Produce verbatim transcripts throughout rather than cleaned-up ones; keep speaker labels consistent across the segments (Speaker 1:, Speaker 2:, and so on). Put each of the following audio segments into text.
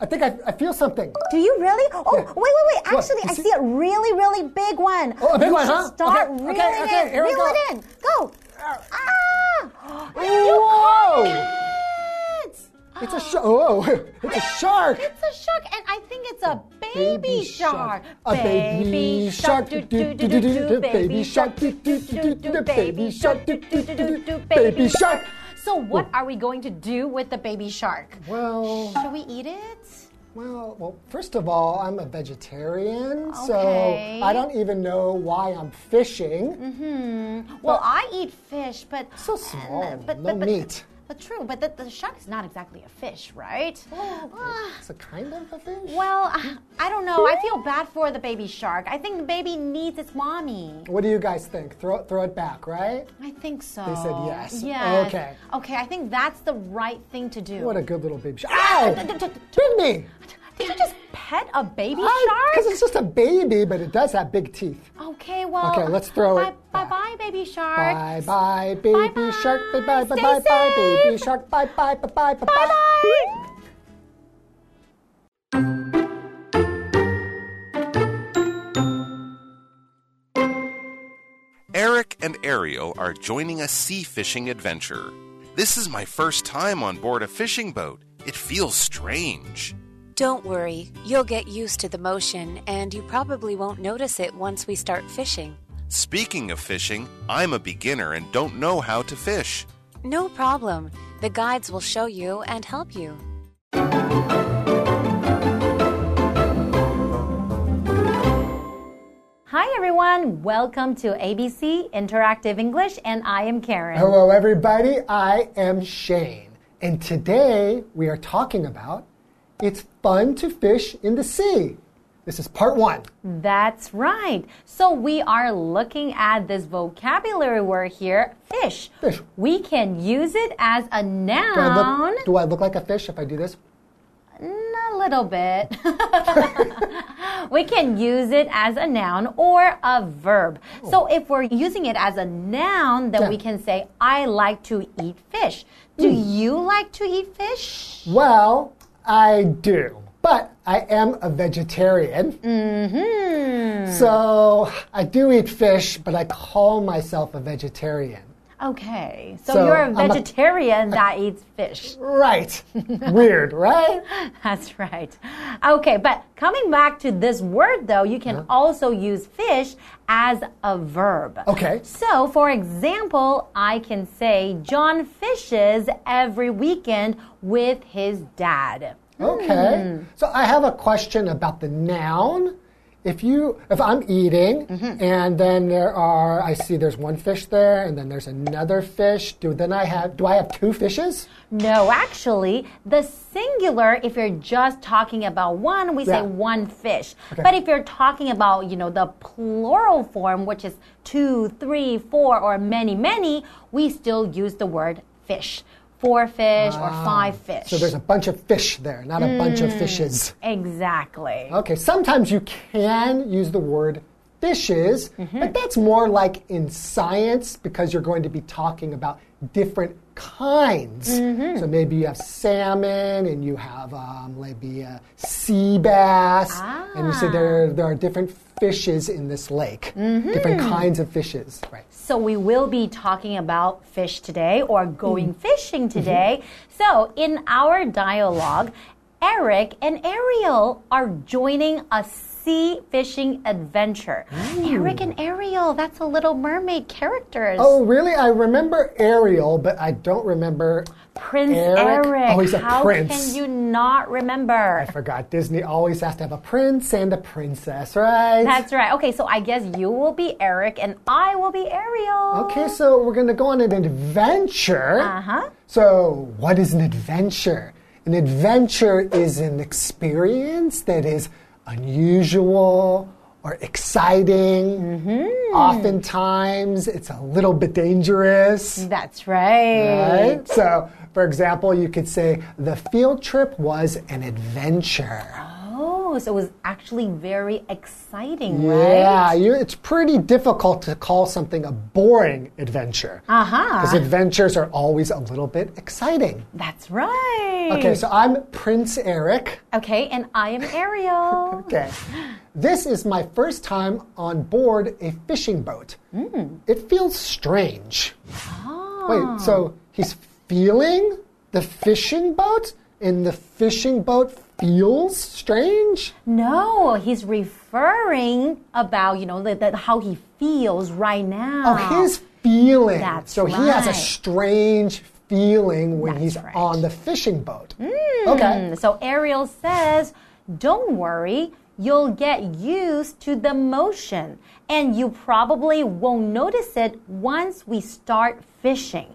Speaker 1: think I, I feel something.
Speaker 2: Do you really? Oh,
Speaker 1: yeah.
Speaker 2: wait, wait, wait. Actually, I
Speaker 1: see?
Speaker 2: see a really, really big one.
Speaker 1: Oh, a big
Speaker 2: you
Speaker 1: one, huh?
Speaker 2: Start
Speaker 1: okay,
Speaker 2: reeling
Speaker 1: okay, okay,
Speaker 2: in.
Speaker 1: here we
Speaker 2: Reel
Speaker 1: go.
Speaker 2: it in. Go. Ah!
Speaker 1: Whoa!
Speaker 2: It.
Speaker 1: It's a shark. Oh, it's a shark.
Speaker 2: It's a shark, and I think it's a baby,
Speaker 1: Baby
Speaker 2: shark.
Speaker 1: shark. A baby shark.
Speaker 2: Do, do, do, do, do. Baby shark. Do, do, do, do. Baby shark. Do, do, do, do.
Speaker 1: Baby shark.
Speaker 2: So what are we going to do with the baby shark?
Speaker 1: Well,
Speaker 2: should we eat it?
Speaker 1: Well, well, first of all, I'm a vegetarian,
Speaker 2: okay.
Speaker 1: so I don't even know why I'm fishing.
Speaker 2: Mm-hmm. Well, I eat fish, but
Speaker 1: so small,
Speaker 2: uh, but,
Speaker 1: no
Speaker 2: but, but,
Speaker 1: meat.
Speaker 2: But true, but the, the shark is not exactly a fish, right?
Speaker 1: Oh, it's a kind of a fish?
Speaker 2: Well, I don't know. I feel bad for the baby shark. I think the baby needs its mommy.
Speaker 1: What do you guys think? Throw, throw it back, right?
Speaker 2: I think so.
Speaker 1: They said yes.
Speaker 2: Yes.
Speaker 1: Okay.
Speaker 2: Okay, I think that's the right thing to do.
Speaker 1: What a good little baby shark. Ow! Bit me!
Speaker 2: Did you just pet a baby
Speaker 1: I,
Speaker 2: shark?
Speaker 1: Because it's just a baby, but it does have big teeth.
Speaker 2: Okay, well.
Speaker 1: Okay, let's throw
Speaker 2: bye,
Speaker 1: it.
Speaker 2: Bye
Speaker 1: back.
Speaker 2: bye, baby shark.
Speaker 1: Bye bye, baby
Speaker 2: bye bye.
Speaker 1: shark. Bye bye, bye
Speaker 2: Stay
Speaker 1: bye, bye,
Speaker 2: safe.
Speaker 1: baby shark. Bye bye, bye bye, bye bye.
Speaker 3: Eric and Ariel are joining a sea fishing adventure. This is my first time on board a fishing boat. It feels strange.
Speaker 4: Don't worry, you'll get used to the motion, and you probably won't notice it once we start fishing.
Speaker 3: Speaking of fishing, I'm a beginner and don't know how to fish.
Speaker 4: No problem. The guides will show you and help you.
Speaker 2: Hi everyone, welcome to A B C Interactive English, and I am Karen.
Speaker 1: Hello everybody, I am Shane. And today we are talking about it's fun to fish in the sea. This is part one.
Speaker 2: That's right. So we are looking at this vocabulary word here, fish.
Speaker 1: Fish.
Speaker 2: We can use it as a noun.
Speaker 1: Do I look, do I look like a fish if I do this?
Speaker 2: A little bit. We can use it as a noun or a verb. Oh. So if we're using it as a noun, then yeah. we can say, I like to eat fish. Do mm. you like to eat fish?
Speaker 1: Well, I do. But I am a vegetarian.
Speaker 2: Mm-hmm.
Speaker 1: So I do eat fish, but I call myself a vegetarian.
Speaker 2: Okay, so,
Speaker 1: so
Speaker 2: you're a vegetarian
Speaker 1: a,
Speaker 2: that eats fish.
Speaker 1: Right. Weird, right?
Speaker 2: That's right. Okay, but coming back to this word, though, you can uh-huh. also use fish as a verb.
Speaker 1: Okay.
Speaker 2: So, for example, I can say, John fishes every weekend with his dad.
Speaker 1: Okay. Hmm. So I have a question about the noun. If you, if I'm eating, mm-hmm. and then there are, I see there's one fish there, and then there's another fish. Do then I have? Do I have two fishes?
Speaker 2: No, actually, the singular. If you're just talking about one, we
Speaker 1: yeah.
Speaker 2: say one fish.
Speaker 1: Okay.
Speaker 2: But if you're talking about, you know, the plural form, which is two, three, four, or many, many, we still use the word fish. Four fish ah, or five fish.
Speaker 1: So there's a bunch of fish there, not a mm, bunch of fishes.
Speaker 2: Exactly.
Speaker 1: Okay, sometimes you can use the word fishes, mm-hmm. but that's more like in science because you're going to be talking about different kinds.
Speaker 2: Mm-hmm.
Speaker 1: So maybe you have salmon and you have um, maybe a sea bass,
Speaker 2: ah.
Speaker 1: and you say there, there are different fishes in this lake,
Speaker 2: mm-hmm.
Speaker 1: different kinds of fishes. Right.
Speaker 2: So we will be talking about fish today or going mm. fishing today. Mm-hmm. So in our dialogue, Eric and Ariel are joining a sea fishing adventure. Ooh. Eric and Ariel, that's a Little Mermaid characters.
Speaker 1: Oh, really? I remember Ariel, but I don't remember
Speaker 2: Prince
Speaker 1: Eric.
Speaker 2: Eric.
Speaker 1: Oh, he's a
Speaker 2: How
Speaker 1: prince.
Speaker 2: can you not remember?
Speaker 1: I forgot. Disney always has to have a prince and a princess, right?
Speaker 2: That's right. Okay, so I guess you will be Eric and I will be Ariel.
Speaker 1: Okay, so we're going to go on an adventure.
Speaker 2: Uh-huh.
Speaker 1: So what is an adventure? An adventure is an experience that is unusual or exciting.
Speaker 2: Mm-hmm.
Speaker 1: Oftentimes, it's a little bit dangerous.
Speaker 2: That's right.
Speaker 1: Right? So, for example, you could say, the field trip was an adventure.
Speaker 2: Oh, so it was actually very exciting, right?
Speaker 1: Yeah, you, it's pretty difficult to call something a boring adventure.
Speaker 2: Uh-huh.
Speaker 1: Because adventures are always a little bit exciting.
Speaker 2: That's right.
Speaker 1: Okay, so I'm Prince Eric.
Speaker 2: Okay, and I am Ariel.
Speaker 1: Okay. This is my first time on board a fishing boat. Mm. It feels strange.
Speaker 2: Oh.
Speaker 1: Wait, so he's feeling the fishing boat? And the fishing boat feels strange?
Speaker 2: No, he's referring about, you know, the, the, how he feels right now.
Speaker 1: Oh, his feeling.
Speaker 2: That's
Speaker 1: so
Speaker 2: right.
Speaker 1: he has a strange feeling when
Speaker 2: That's
Speaker 1: he's
Speaker 2: right.
Speaker 1: on the fishing boat.
Speaker 2: Mm.
Speaker 1: Okay.
Speaker 2: So Ariel says, don't worry, you'll get used to the motion. And you probably won't notice it once we start fishing.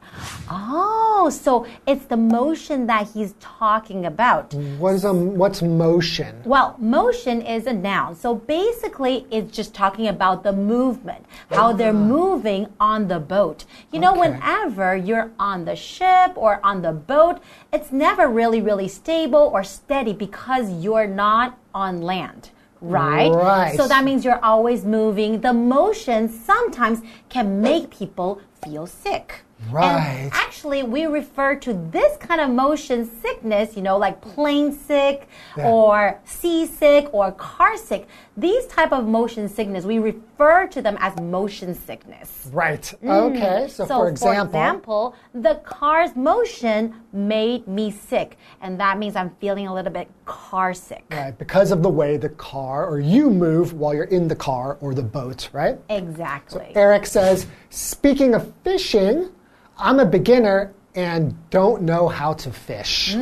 Speaker 2: Oh, so it's the motion that he's talking about.
Speaker 1: What is a, what's motion?
Speaker 2: Well, motion is a noun. So basically, it's just talking about the movement, how they're moving on the boat. You know,
Speaker 1: Okay.
Speaker 2: whenever you're on the ship or on the boat, it's never really, really stable or steady because you're not on land. Right?
Speaker 1: Right.
Speaker 2: So that means you're always moving. The motion sometimes can make people feel sick.
Speaker 1: Right.
Speaker 2: And actually, we refer to this kind of motion sickness, you know, like plane sick
Speaker 1: Yeah.
Speaker 2: or seasick or car sick. These type of motion sickness, we refer to them as motion sickness.
Speaker 1: Right. Okay. So,
Speaker 2: So,
Speaker 1: for example,
Speaker 2: for example, the car's motion made me sick. And that means I'm feeling a little bit car sick.
Speaker 1: right, because of the way the car or you move while you're in the car or the boat, right?
Speaker 2: Exactly.
Speaker 1: Eric says, speaking of fishing, I'm a beginner and don't know how to fish.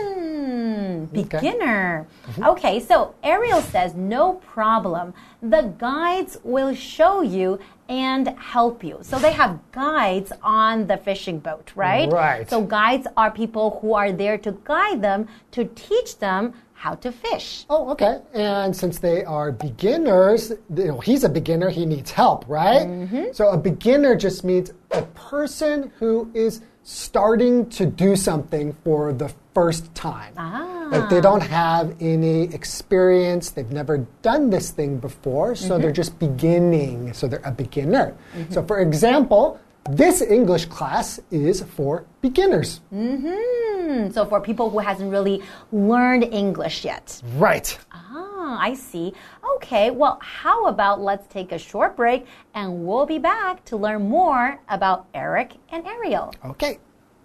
Speaker 2: Mm, beginner. Okay. okay, so Ariel says, no problem. The guides will show you and help you. So they have guides on the fishing boat, right?
Speaker 1: Right.
Speaker 2: So guides are people who are there to guide them, to teach them how to fish.
Speaker 1: Oh, okay. And since they are beginners, you know, he's a beginner, he needs help, right?
Speaker 2: Mm-hmm.
Speaker 1: So a beginner just means a person who is starting to do something for the first time.
Speaker 2: Ah.
Speaker 1: Like they don't have any experience, they've never done this thing before, so mm-hmm. they're just beginning. So they're a beginner. Mm-hmm. So for example, this English class is for beginners.
Speaker 2: Mm-hmm. So for people who hasn't really learned English yet.
Speaker 1: Right.
Speaker 2: Ah, I see. Okay, well, how about let's take a short break and we'll be back to learn more about Eric and Ariel.
Speaker 1: Okay.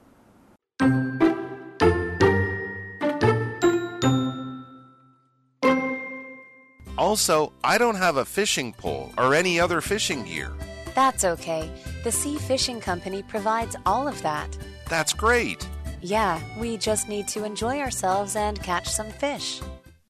Speaker 3: Also, I don't have a fishing pole or any other fishing gear.
Speaker 4: That's okay. The Sea Fishing Company provides all of that.
Speaker 3: That's great.
Speaker 4: Yeah, we just need to enjoy ourselves and catch some fish.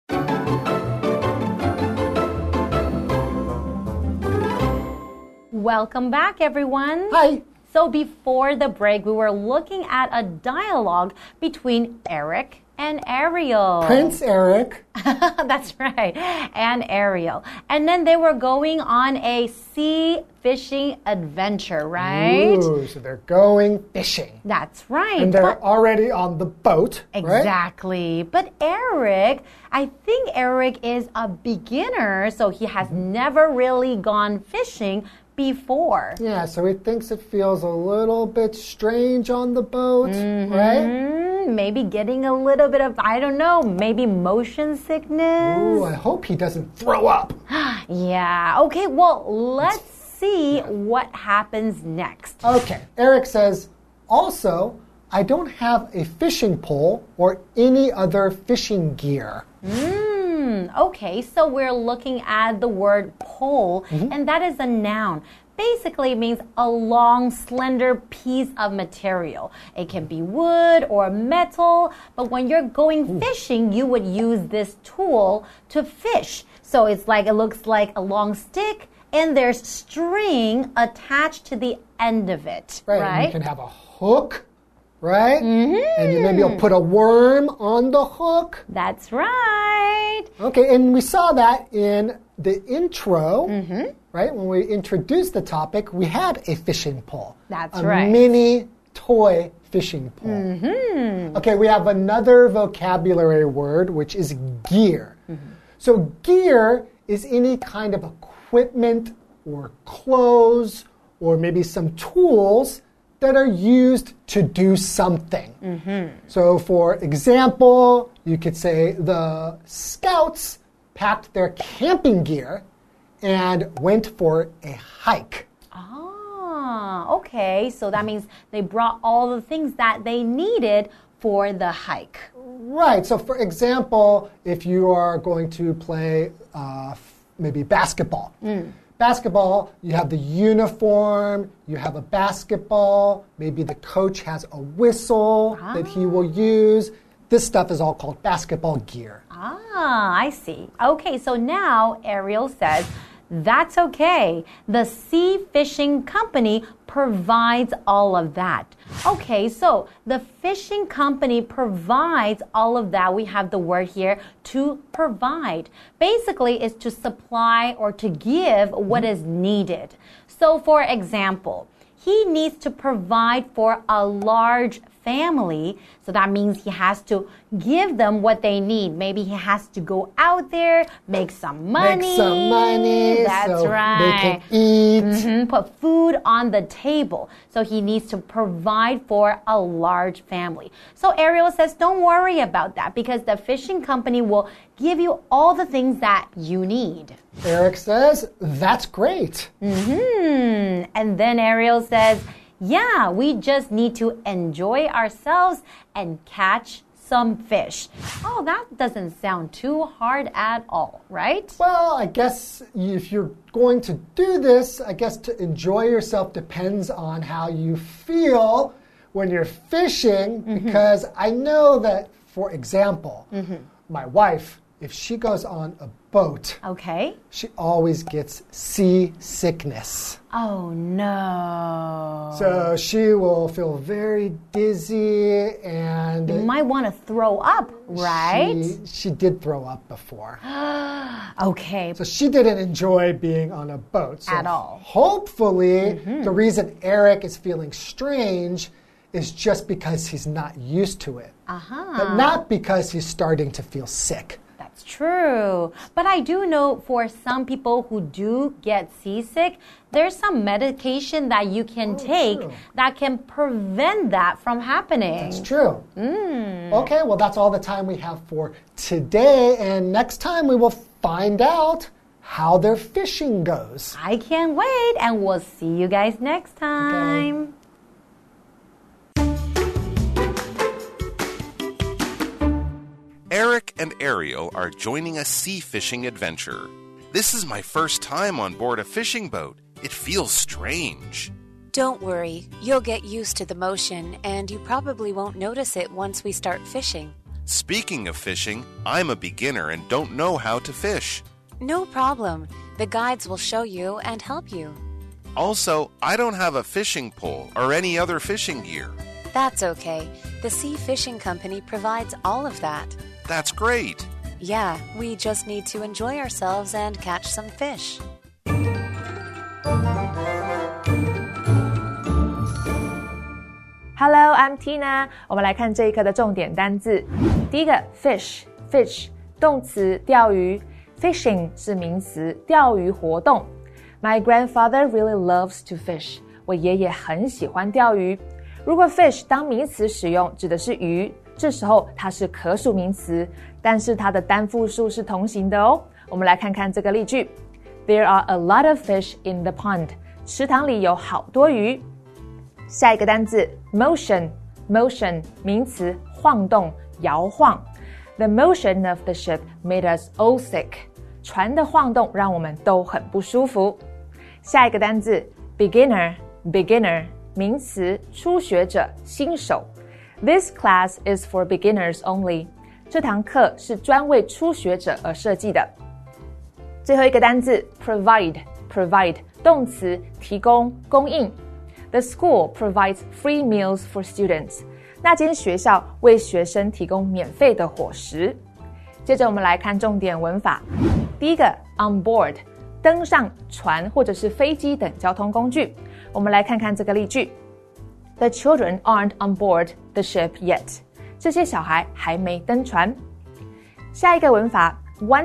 Speaker 2: Welcome back, everyone.
Speaker 1: Hi.
Speaker 2: So before the break, we were looking at a dialogue between Eric and Ariel.
Speaker 1: Prince Eric.
Speaker 2: That's right. And Ariel. And then they were going on a sea fishing adventure, right?
Speaker 1: Ooh, so they're going fishing.
Speaker 2: That's right.
Speaker 1: And they're
Speaker 2: But-
Speaker 1: already on the boat, right?
Speaker 2: Exactly. But Eric, I think Eric is a beginner, so he has never really gone fishing before.
Speaker 1: Yeah, so he thinks it feels a little bit strange on the boat,
Speaker 2: Mm-hmm.
Speaker 1: right?
Speaker 2: Maybe getting a little bit of, I don't know, maybe motion sickness.
Speaker 1: Ooh, I hope he doesn't throw up.
Speaker 2: Yeah. Okay, well, let's see what happens next.
Speaker 1: Okay, Eric says, also, I don't have a fishing pole or any other fishing gear.
Speaker 2: Mm, okay, so we're looking at the word pole,
Speaker 1: Mm-hmm.
Speaker 2: and that is a noun. Basically, it means a long, slender piece of material. It can be wood or metal, but when you're going
Speaker 1: Ooh.
Speaker 2: fishing, you would use this tool to fish. So it's like, it looks like a long stick, and there's string attached to the end of it,
Speaker 1: Right,
Speaker 2: right?
Speaker 1: and you can have a hook, right?
Speaker 2: Mm-hmm.
Speaker 1: And you maybe you'll put a worm on the hook.
Speaker 2: That's right.
Speaker 1: Okay, and we saw that in the intro,
Speaker 2: Mm-hmm.
Speaker 1: right? When we introduced the topic, we had a fishing pole.
Speaker 2: That's
Speaker 1: a
Speaker 2: right.
Speaker 1: A mini toy fishing pole.
Speaker 2: Mm-hmm.
Speaker 1: Okay, we have another vocabulary word, which is gear.
Speaker 2: Mm-hmm.
Speaker 1: So gear is any kind of equipment or clothes or maybe some tools that are used to do something.
Speaker 2: Mm-hmm.
Speaker 1: So for example, you could say the scouts packed their camping gear and went for a hike.
Speaker 2: Ah, okay. So that means they brought all the things that they needed for the hike.
Speaker 1: Right. So for example, if you are going to play uh, maybe basketball. Mm. Basketball, you have the uniform, you have a basketball, maybe the coach has a whistle ah. that he will use. This stuff is all called basketball gear.
Speaker 2: Ah, I see. Okay, so now Ariel says, that's okay. The Sea Fishing Company provides all of that. Okay, so the fishing company provides all of that. We have the word here, to provide. Basically, is to supply or to give what is needed. So, for example, he needs to provide for a large family. So that means he has to give them what they need. Maybe he has to go out there, make some money.
Speaker 1: Make some money.
Speaker 2: That's
Speaker 1: so
Speaker 2: right.
Speaker 1: They can eat.
Speaker 2: Mm-hmm. Put food on the table. So he needs to provide for a large family. So Ariel says, don't worry about that because the fishing company will give you all the things that you need.
Speaker 1: Eric says, that's great.
Speaker 2: Mm-hmm. And then Ariel says, yeah, we just need to enjoy ourselves and catch some fish. Oh, that doesn't sound too hard at all, right?
Speaker 1: Well, I guess if you're going to do this, I guess to enjoy yourself depends on how you feel when you're fishing, mm-hmm. because I know that, for example, mm-hmm. my wife, if she goes on a boat,
Speaker 2: okay,
Speaker 1: she always gets seasickness.
Speaker 2: Oh, no.
Speaker 1: So she will feel very dizzy and...
Speaker 2: You might want to throw up, right?
Speaker 1: She, she did throw up before.
Speaker 2: Okay.
Speaker 1: So she didn't enjoy being on a boat. So
Speaker 2: at all.
Speaker 1: Hopefully,
Speaker 2: mm-hmm.
Speaker 1: the reason Eric is feeling strange is just because he's not used to it.
Speaker 2: Uh-huh.
Speaker 1: But not because he's starting to feel sick.
Speaker 2: That's true. But I do know for some people who do get seasick, there's some medication that you can oh, take true. that can prevent that from happening.
Speaker 1: That's true.
Speaker 2: Mm.
Speaker 1: Okay, well, that's all the time we have for today. And next time we will find out how their fishing goes.
Speaker 2: I can't wait. And we'll see you guys next time.
Speaker 1: Okay.
Speaker 3: Eric and Ariel are joining a sea fishing adventure. This is my first time on board a fishing boat. It feels strange.
Speaker 4: Don't worry, you'll get used to the motion, and you probably won't notice it once we start fishing.
Speaker 3: Speaking of fishing, I'm a beginner and don't know how to fish.
Speaker 4: No problem. The guides will show you and help you.
Speaker 3: Also, I don't have a fishing pole or any other fishing gear.
Speaker 4: That's okay. The Sea Fishing Company provides all of that.
Speaker 3: That's great.
Speaker 4: Yeah, we just need to enjoy ourselves and catch some fish.
Speaker 5: Hello, I'm Tina. 我们来看这一课的重点单字。第一个 fish, fish 动詞釣魚 ，fishing 是名詞，釣魚活動。My grandfather really loves to fish. 我爺爺很喜歡釣魚。如果 fish 當名詞使用，指的是魚。這時候它是可數名詞，但是它的單複數是同形的哦。我們來看看這個例句 ：There are a lot of fish in the pond. 池塘裡有好多魚。下一個單字 motion, motion 名詞，晃動、搖晃。The motion of the ship made us all sick. 船的晃動讓我們都很不舒服。下一個單字 beginner, beginner 名詞，初學者、新手。This class is for beginners only. 這堂課是專為初學者而設計的。最後一個單字 provide, provide 動詞，提供、供應。The school provides free meals for students. 那間學校為學生提供免費的伙食。接着我們來看重點文法。第一個 on board 登上船或者是飛機等交通工具。我們來看看這個例句。The children aren't on board the ship yet. 這些小孩還沒登船。下一個文法 Once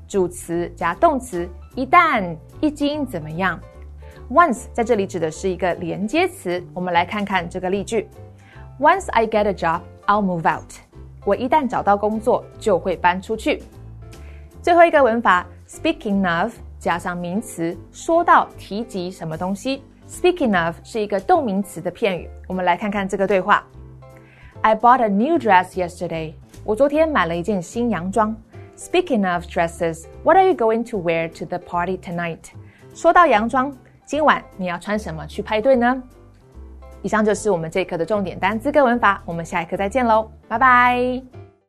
Speaker 5: 主詞加動詞，一旦、一經怎麼樣。Once 在這裡指的是一個連接詞，我們來看看這個例句。Once I get a job, I'll move out. 我一旦找到工作，就會搬出去。最後一個文法 Speaking of 加上名詞，說到提及什麼東西。Speaking of 是一個動名詞的片語，我們來看看這個對話。I bought a new dress yesterday. 我昨天買了一件新洋裝。Speaking of dresses, what are you going to wear to the party tonight? 說到洋裝，今晚你要穿什麼去派對呢？以上就是我們這一課的重點單字跟文法，我們下一課再見嘍，拜拜。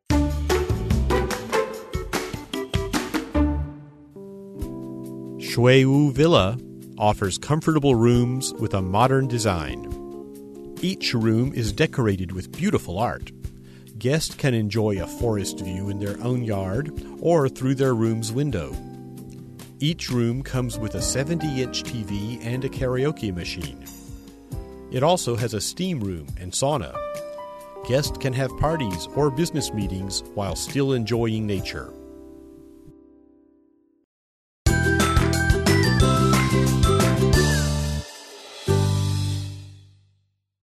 Speaker 6: Shui Wu Villa offers comfortable rooms with a modern design. Each room is decorated with beautiful art. Guests can enjoy a forest view in their own yard or through their room's window. Each room comes with a seventy-inch T V and a karaoke machine. It also has a steam room and sauna. Guests can have parties or business meetings while still enjoying nature.